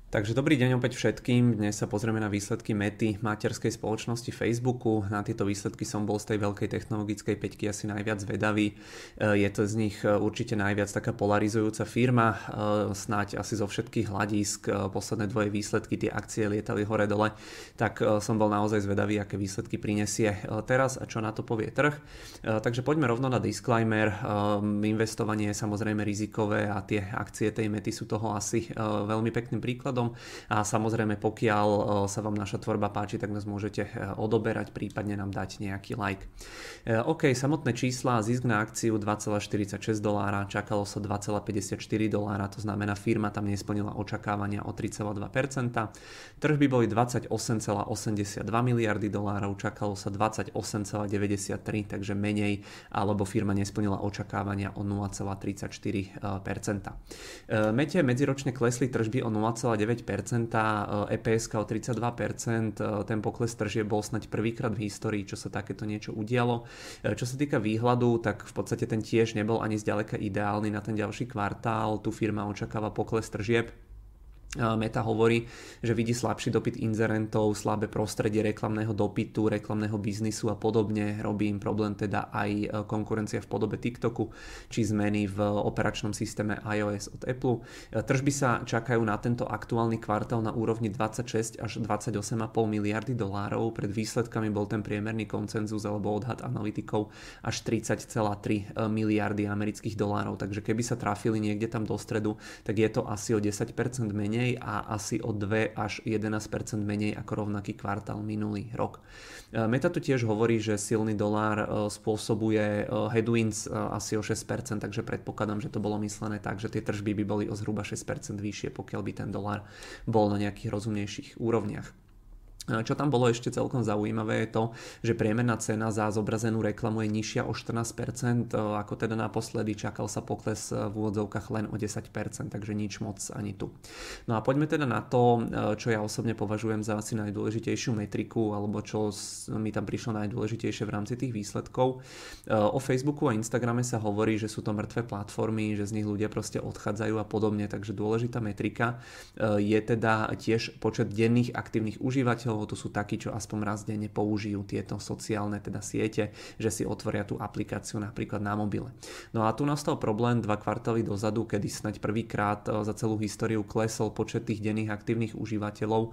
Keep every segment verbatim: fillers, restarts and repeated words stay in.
Takže dobrý deň opäť všetkým. Dnes sa pozrieme na výsledky Mety, materskej spoločnosti Facebooku. Na tieto výsledky som bol z tej veľkej technologickej päťky asi najviac zvedavý. Je to z nich určite najviac taká polarizujúca firma. Snáď asi zo všetkých hľadísk posledné dvoje výsledky, tie akcie lietali hore-dole, tak som bol naozaj zvedavý, aké výsledky prinesie teraz a čo na to povie trh. Takže poďme rovno na disclaimer. Investovanie je samozrejme rizikové a tie akcie tej Mety sú toho asi veľmi pekným príkladom. A samozrejme, pokiaľ sa vám naša tvorba páči, tak nás môžete odoberať, prípadne nám dať nejaký like. OK, samotné čísla, zisk na akciu dva celé štyridsaťšesť dolára, čakalo sa dva celé päťdesiatštyri dolára, to znamená firma tam nesplnila očakávania o tri celé dva percenta. Tržby boli dvadsaťosem celé osemdesiatdva miliardy dolárov, čakalo sa dvadsaťosem celé deväťdesiattri, takže menej, alebo firma nesplnila očakávania o nula celé tridsaťštyri percenta. Mete medziročne klesli tržby o nula celé deväť percenta, é pé es o tridsaťdva percent, ten pokles tržieb bol snať prvýkrát v histórii, čo sa takéto niečo udialo. Čo sa týka výhľadu, tak v podstate ten tiež nebol ani zďaleka ideálny na ten ďalší kvartál, tu firma očakáva pokles tržieb. Meta hovorí, že vidí slabší dopyt inzerentov, slabé prostredie reklamného dopytu, reklamného biznisu a podobne. Robí im problém teda aj konkurencia v podobe TikToku či zmeny v operačnom systéme iOS od Apple. Tržby sa čakajú na tento aktuálny kvartál na úrovni dvadsaťšesť až dvadsaťosem celá päť miliardy dolárov. Pred výsledkami bol ten priemerný konsenzus alebo odhad analytikov až tridsať celé tri miliardy amerických dolárov. Takže keby sa trafili niekde tam do stredu, tak je to asi o desať percent menej a asi o dva až jedenásť percent menej ako rovnaký kvartál minulý rok. Meta tu tiež hovorí, že silný dolár spôsobuje headwinds asi o šesť percent, takže predpokladám, že to bolo myslené tak, že tie tržby by boli o zhruba šesť percent vyššie, pokiaľ by ten dolár bol na nejakých rozumnejších úrovniach. Čo tam bolo ešte celkom zaujímavé je to, že priemerná cena za zobrazenú reklamu je nižšia o štrnásť percent, ako teda naposledy, čakal sa pokles v úvodzovkách len o desať percent, takže nič moc ani tu. No a poďme teda na to, čo ja osobne považujem za asi najdôležitejšiu metriku, alebo čo mi tam prišlo najdôležitejšie v rámci tých výsledkov. O Facebooku a Instagrame sa hovorí, že sú to mŕtve platformy, že z nich ľudia proste odchádzajú a podobne, takže dôležitá metrika je teda tiež počet denných aktívnych užívateľov. To sú takí, čo aspoň raz denne použijú tieto sociálne teda siete, že si otvoria tú aplikáciu napríklad na mobile. No a tu nastal problém dva kvartály dozadu, kedy snáď prvýkrát za celú históriu klesol počet tých denných aktívnych užívateľov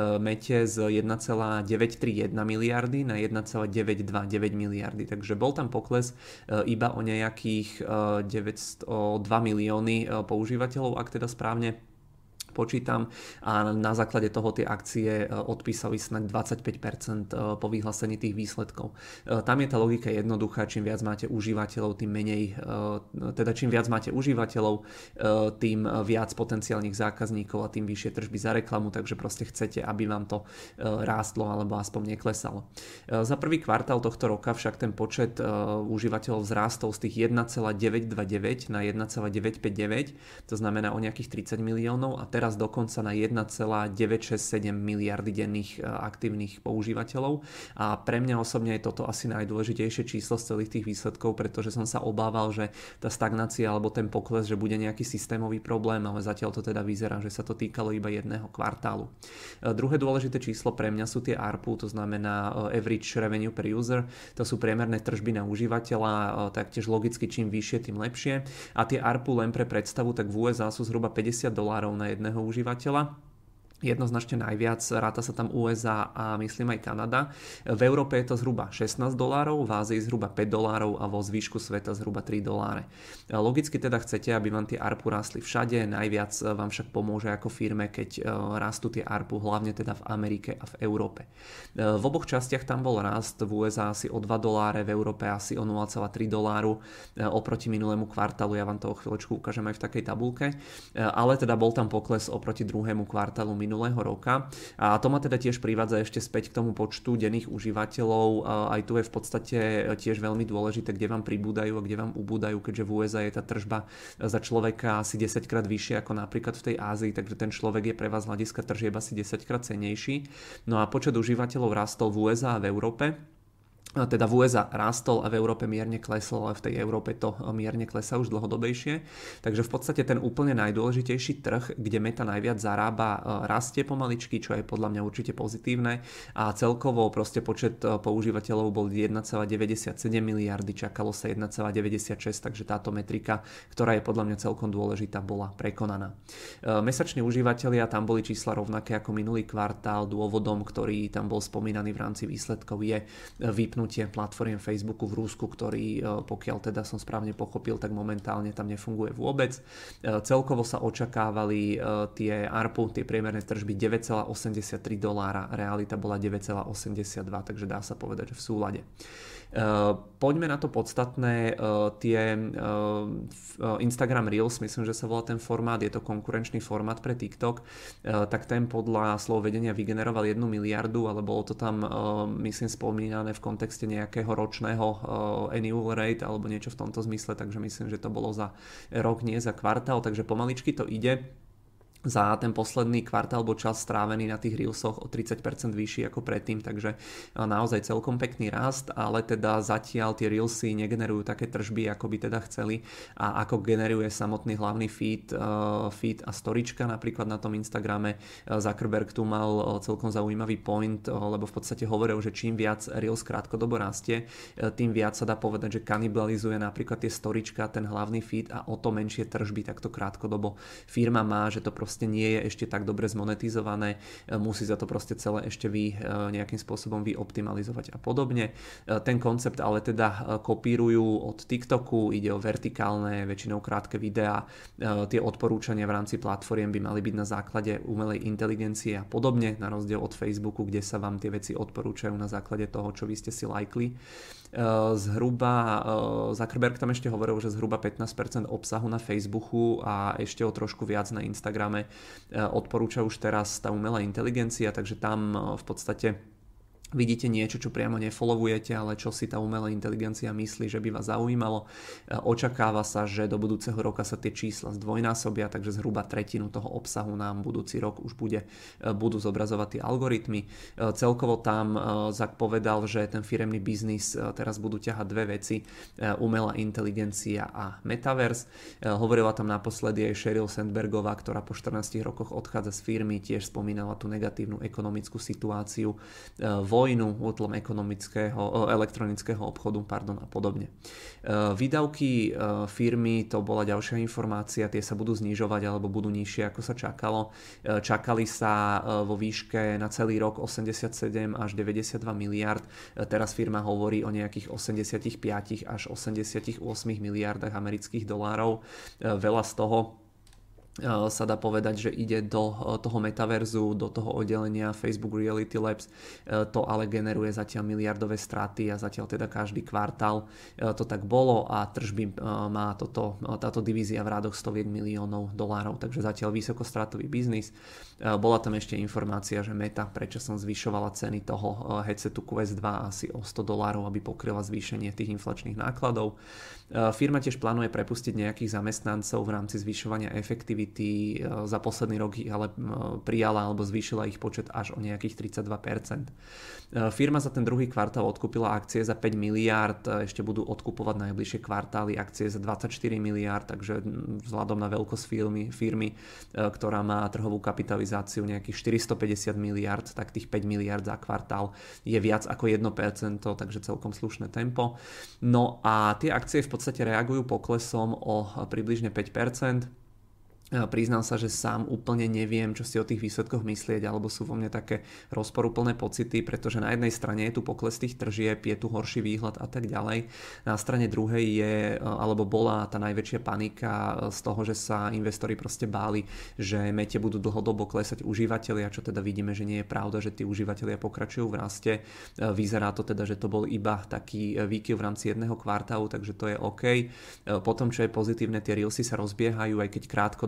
Mete z jeden celé deväťstotridsaťjeden miliardy na jeden celé deväťstodvadsaťdeväť miliardy. Takže bol tam pokles iba o nejakých deväťstodva milióny používateľov, ak teda správne počítam, a na základe toho tie akcie odpísali snáď dvadsaťpäť percent po vyhlásení tých výsledkov. Tam je tá logika jednoduchá, čím viac máte užívateľov, tým menej, teda čím viac máte užívateľov, tým viac potenciálnych zákazníkov a tým vyššie tržby za reklamu, takže proste chcete, aby vám to rástlo alebo aspoň neklesalo. Za prvý kvartál tohto roka však ten počet užívateľov vzrástol z tých jeden celé deväťstodvadsaťdeväť na jeden celé deväťstopäťdesiatdeväť, to znamená o nejakých tridsať miliónov, a teraz dokonca na jeden celé deväťstošesťdesiatsedem miliardy denných aktívnych používateľov. A pre mňa osobne je toto asi najdôležitejšie číslo z celých tých výsledkov, pretože som sa obával, že tá stagnácia alebo ten pokles, že bude nejaký systémový problém, ale zatiaľ to teda vyzerá, že sa to týkalo iba jedného kvartálu. Druhé dôležité číslo pre mňa sú tie á er pé u, to znamená Average Revenue per User, to sú priemerné tržby na užívateľa, taktiež logicky čím vyššie, tým lepšie. A tie á er pé len pre predstavu, tak v ú es á sú zhruba päťdesiat dolárov na jedného užívateľa. Jednoznačne najviac, ráta sa tam ú es á a myslím aj Kanada. V Európe je to zhruba šestnásť dolárov, v Ázii zhruba päť dolárov a vo zvyšku sveta zhruba tri doláre. Logicky teda chcete, aby vám tie á er pé rástli všade, najviac vám však pomôže ako firme, keď rastú tie á er pé, hlavne teda v Amerike a v Európe. V oboch častiach tam bol rast, v ú es á asi o dva doláre, v Európe asi o nula celé tri doláru oproti minulému kvartálu, ja vám to o chvíľočku ukážem aj v takej tabulke, ale teda bol tam pokles oproti druhému kvartálu minulého roka. A to ma teda tiež privádza ešte späť k tomu počtu denných užívateľov. Aj tu je v podstate tiež veľmi dôležité, kde vám pribúdajú a kde vám ubúdajú, keďže v ú es á je tá tržba za človeka asi desaťkrát vyššia ako napríklad v tej Ázii, takže ten človek je pre vás z hľadiska tržieb asi desaťkrát cennejší. No a počet užívateľov rastol v ú es á a v Európe. teda v ú es á rástol a v Európe mierne klesol, ale v tej Európe to mierne klesá už dlhodobejšie. Takže v podstate ten úplne najdôležitejší trh, kde Meta najviac zarába, rastie pomaličky, čo je podľa mňa určite pozitívne a celkovo proste počet používateľov bol jeden celá deväťdesiatsedem miliardy, čakalo sa jeden celá deväťdesiatšesť, takže táto metrika, ktorá je podľa mňa celkom dôležitá, bola prekonaná. Mesační užívateľia, tam boli čísla rovnaké ako minulý kvartál, dôvodom, ktorý tam bol spomínaný v rámci výsledkov, je vypnúť platformiem Facebooku v Rusku, ktorý, pokiaľ teda som správne pochopil, tak momentálne tam nefunguje vôbec. Celkovo sa očakávali tie á er pé ú, tie priemerné tržby deväť celá osemdesiattri dolára, realita bola deväť celá osemdesiatdva, takže dá sa povedať, že v súlade. Poďme na to podstatné, tie Instagram Reels, myslím, že sa volá ten formát, je to konkurenčný formát pre TikTok, tak ten podľa slov vedenia vygeneroval jednu miliardu, ale bolo to tam, myslím, spomínané v kontexte nejakého ročného annual rate alebo niečo v tomto zmysle, takže myslím, že to bolo za rok, nie za kvartál, takže pomaličky to ide. Za ten posledný kvartál bol čas strávený na tých Reelsoch o tridsať percent vyšší ako predtým, takže naozaj celkom pekný rast, ale teda zatiaľ tie Reelsy negenerujú také tržby, ako by teda chceli a ako generuje samotný hlavný feed, feed a storička napríklad na tom Instagrame. Zuckerberg tu mal celkom zaujímavý point, lebo v podstate hovoril, že čím viac Reels krátkodobo rastie, tým viac sa dá povedať, že kanibalizuje napríklad tie storička, ten hlavný feed a o to menšie tržby takto krátkodobo firma má, že to proste nie je ešte tak dobre zmonetizované, musí za to proste celé ešte vy nejakým spôsobom vyoptimalizovať a podobne. Ten koncept ale teda kopírujú od TikToku, ide o vertikálne, väčšinou krátke videá, tie odporúčania v rámci platformiem by mali byť na základe umelej inteligencie a podobne, na rozdiel od Facebooku, kde sa vám tie veci odporúčajú na základe toho, čo vy ste si lajkli. Zhruba, Zuckerberg tam ešte hovoril, že zhruba pätnásť percent obsahu na Facebooku a ešte o trošku viac na Instagrame odporúča už teraz tá umelá inteligencia, takže tam v podstate vidíte niečo, čo priamo nefollowujete, ale čo si tá umelá inteligencia myslí, že by vás zaujímalo. Očakáva sa, že do budúceho roka sa tie čísla zdvojnásobia, takže zhruba tretinu toho obsahu nám budúci rok už bude, budú zobrazovať tie algoritmy. Celkovo tam Zak povedal, že ten firemný biznis teraz budú ťahať dve veci, umelá inteligencia a metaverse. Hovorila tam naposledy aj Sheryl Sandbergová, ktorá po štrnástich rokoch odchádza z firmy, tiež spomínala tú negatívnu ekonomickú situáciu, vojnu, útlom ekonomického, elektronického obchodu, pardon, a podobne. Výdavky firmy, to bola ďalšia informácia, tie sa budú znižovať alebo budú nižšie, ako sa čakalo. Čakali sa vo výške na celý rok osemdesiatsedem až deväťdesiatdva miliárd, teraz firma hovorí o nejakých osemdesiatpäť až osemdesiatosem miliardách amerických dolárov. Veľa z toho sa dá povedať, že ide do toho metaverzu, do toho oddelenia Facebook Reality Labs, to ale generuje zatiaľ miliardové straty a zatiaľ teda každý kvartál to tak bolo a tržby má toto, táto divízia v rádoch stoviek miliónov dolárov, takže zatiaľ vysokostratový biznis. Bola tam ešte informácia, že Meta predčasom zvyšovala ceny toho headsetu Quest dva asi o sto dolárov, aby pokryla zvýšenie tých inflačných nákladov. Firma tiež plánuje prepustiť nejakých zamestnancov v rámci zvyšovania efektivity. Za posledný rok ich ale prijala alebo zvýšila ich počet až o nejakých tridsaťdva percent. Firma za ten druhý kvartál odkúpila akcie za päť miliárd, ešte budú odkupovať najbližšie kvartály akcie za dvadsaťštyri miliárd, takže vzhľadom na veľkosť firmy, firmy, ktorá má trhovú kapitalizáciu nejakých štyristopäťdesiat miliárd, tak tých päť miliárd za kvartál je viac ako jedno percento, takže celkom slušné tempo. No a tie akcie v podstate reagujú poklesom o približne päť percent. Priznám sa, že sám úplne neviem, čo si o tých výsledkoch myslieť, alebo sú vo mne také rozporuplné pocity, pretože na jednej strane je tu pokles tých tržieb, je tu horší výhľad a tak ďalej. Na strane druhej je, alebo bola tá najväčšia panika z toho, že sa investori proste báli, že Mete budú dlhodobo klesať užívateľia, čo teda vidíme, že nie je pravda, že tí užívateľia pokračujú v raste. Vyzerá to teda, že to bol iba taký výkyv v rámci jedného kvartálu, takže to je OK. Potom, čo je pozitívne, tie Reelsy sa rozbiehajú, aj keď krátkodobo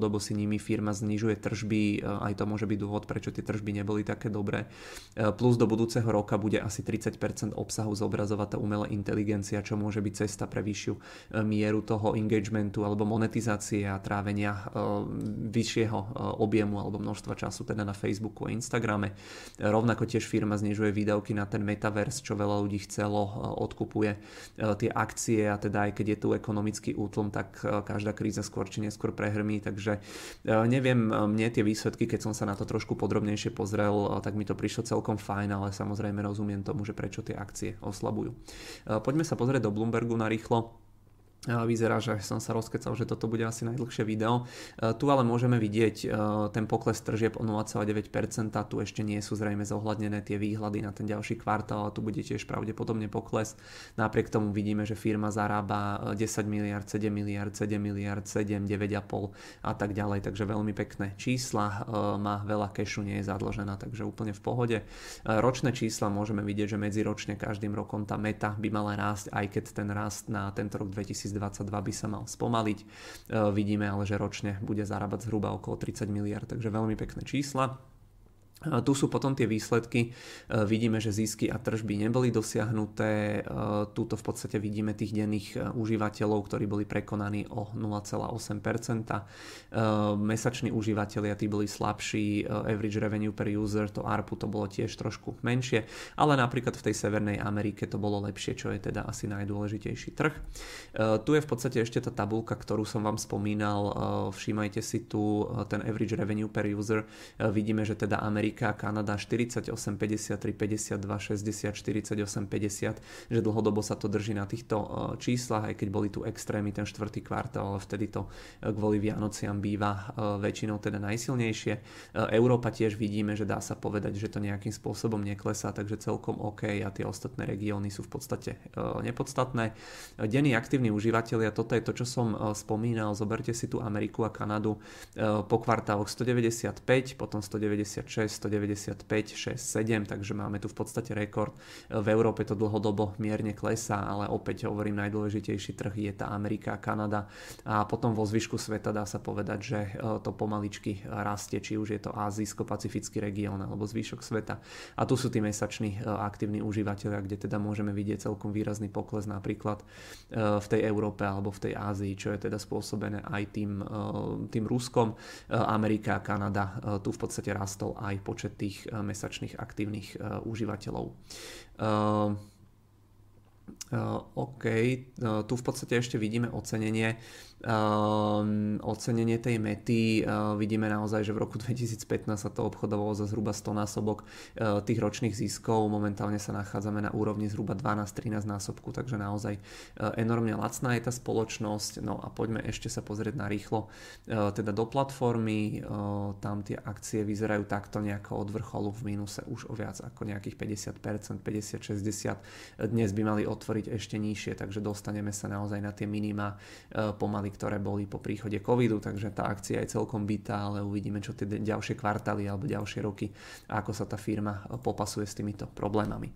dlhodobo si nimi firma znižuje tržby, aj to môže byť dôvod, prečo tie tržby neboli také dobré. Plus do budúceho roka bude asi tridsať percent obsahu zobrazovať tá umelá inteligencia, čo môže byť cesta pre vyššiu mieru toho engagementu alebo monetizácie a trávenia vyššieho objemu alebo množstva času teda na Facebooku a Instagrame. Rovnako tiež firma znižuje výdavky na ten metaverse, čo veľa ľudí chcelo, odkupuje tie akcie a teda aj keď je tu ekonomický útlm, tak každá kríza skôr či neskôr prehrmí, takže neviem, mne tie výsledky, keď som sa na to trošku podrobnejšie pozrel, tak mi to prišlo celkom fajn, ale samozrejme rozumiem tomu, že prečo tie akcie oslabujú. Poďme sa pozrieť do Bloombergu na rýchlo. Vyzerá, že som sa rozkecal, že toto bude asi najdlhšie video. Tu ale môžeme vidieť ten pokles tržieb o nula celá deväť percent. Tu ešte nie sú zrejme zohľadnené tie výhľady na ten ďalší kvartál, a tu bude tiež pravdepodobne pokles. Napriek tomu vidíme, že firma zarába desať miliárd, sedem miliárd, sedem miliárd, sedem, deväť a pol a tak ďalej. Takže veľmi pekné čísla. Má veľa kešu, nie je zadlžená, takže úplne v pohode. Ročné čísla môžeme vidieť, že medziročne každým rokom tá meta by mala rásť, aj keď ten rast na tento rok dvetisícdvadsaťdva by sa mal spomaliť. Vidíme ale, že ročne bude zarábať zhruba okolo tridsať miliárd, takže veľmi pekné čísla. Tu sú potom tie výsledky. Vidíme, že zisky a tržby neboli dosiahnuté. Tuto v podstate vidíme tých denných užívateľov, ktorí boli prekonaní o nula celá osem percent. Mesační užívateľia tí boli slabší. Average revenue per user, to á er pé, to bolo tiež trošku menšie, ale napríklad v tej Severnej Amerike to bolo lepšie, čo je teda asi najdôležitejší trh. Tu je v podstate ešte tá tabuľka, ktorú som vám spomínal. Všímajte si tu ten average revenue per user. Vidíme, že teda Amerika Kanada štyridsaťosem, päťdesiattri, päťdesiatdva, šesťdesiat, štyridsaťosem, päťdesiat, že dlhodobo sa to drží na týchto číslach, aj keď boli tu extrémy ten štvrtý kvartál, ale vtedy to kvôli Vianociam býva väčšinou teda najsilnejšie. Európa tiež vidíme, že dá sa povedať, že to nejakým spôsobom neklesá, takže celkom OK a tie ostatné regióny sú v podstate nepodstatné. Denní aktívni užívateľia, toto je to, čo som spomínal, zoberte si tu Ameriku a Kanadu po kvartáloch stodeväťdesiatpäť, potom stodeväťdesiatšesť, stodeväťdesiatpäť, šesť, sedem, takže máme tu v podstate rekord. V Európe to dlhodobo mierne klesá, ale opäť hovorím, najdôležitejší trh je tá Amerika a Kanada a potom vo zvyšku sveta dá sa povedať, že to pomaličky rastie, či už je to ázijsko-pacifický región alebo zvyšok sveta. A tu sú tí mesační aktívni užívateľia, kde teda môžeme vidieť celkom výrazný pokles napríklad v tej Európe alebo v tej Ázii, čo je teda spôsobené aj tým, tým Ruskom. Amerika a Kanada, tu v podstate rastol aj počet tých mesačných aktívnych uh, užívateľov. Uh, uh, OK, uh, tu v podstate ešte vidíme ocenenie. Uh, ocenenie tej mety, uh, vidíme naozaj, že v roku dvetisícpätnásť sa to obchodovalo za zhruba sto násobok uh, tých ročných ziskov, momentálne sa nachádzame na úrovni zhruba dvanásť trinásť násobku, takže naozaj uh, enormne lacná je tá spoločnosť. No a poďme ešte sa pozrieť na rýchlo uh, teda do platformy, uh, tam tie akcie vyzerajú takto nejako od vrcholu v mínuse už o viac ako nejakých päťdesiat percent, päťdesiat šesťdesiat, dnes by mali otvoriť ešte nižšie, takže dostaneme sa naozaj na tie minima uh, pomaly, ktoré boli po príchode covidu, takže tá akcia je celkom bitá, ale uvidíme, čo tie ďalšie kvartály alebo ďalšie roky a ako sa tá firma popasuje s týmito problémami.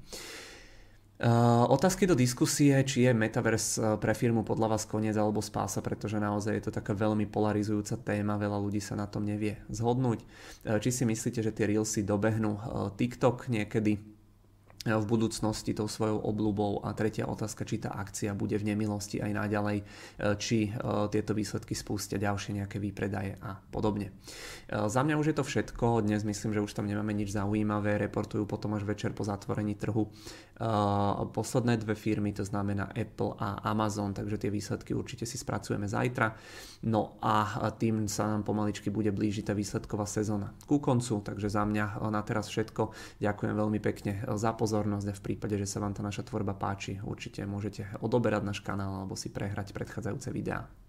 Uh, otázky do diskusie, či je Metaverse pre firmu podľa vás koniec alebo spása, pretože naozaj je to taká veľmi polarizujúca téma, veľa ľudí sa na tom nevie zhodnúť. Uh, či si myslíte, že tie Reelsy dobehnú uh, TikTok niekedy v budúcnosti tou svojou obľubou, a tretia otázka, či tá akcia bude v nemilosti aj naďalej, či tieto výsledky spustia ďalšie nejaké výpredaje a podobne. Za mňa už je to všetko, dnes myslím, že už tam nemáme nič zaujímavé, reportujú potom až večer po zatvorení trhu posledné dve firmy, to znamená Apple a Amazon, takže tie výsledky určite si spracujeme zajtra. No a tým sa nám pomaličky bude blížiť tá výsledková sezóna ku koncu, takže za mňa na teraz všetko. Ďakujem veľmi pekne za pozornosť a v prípade, že sa vám tá naša tvorba páči, určite môžete odoberať náš kanál alebo si prehrať predchádzajúce videá.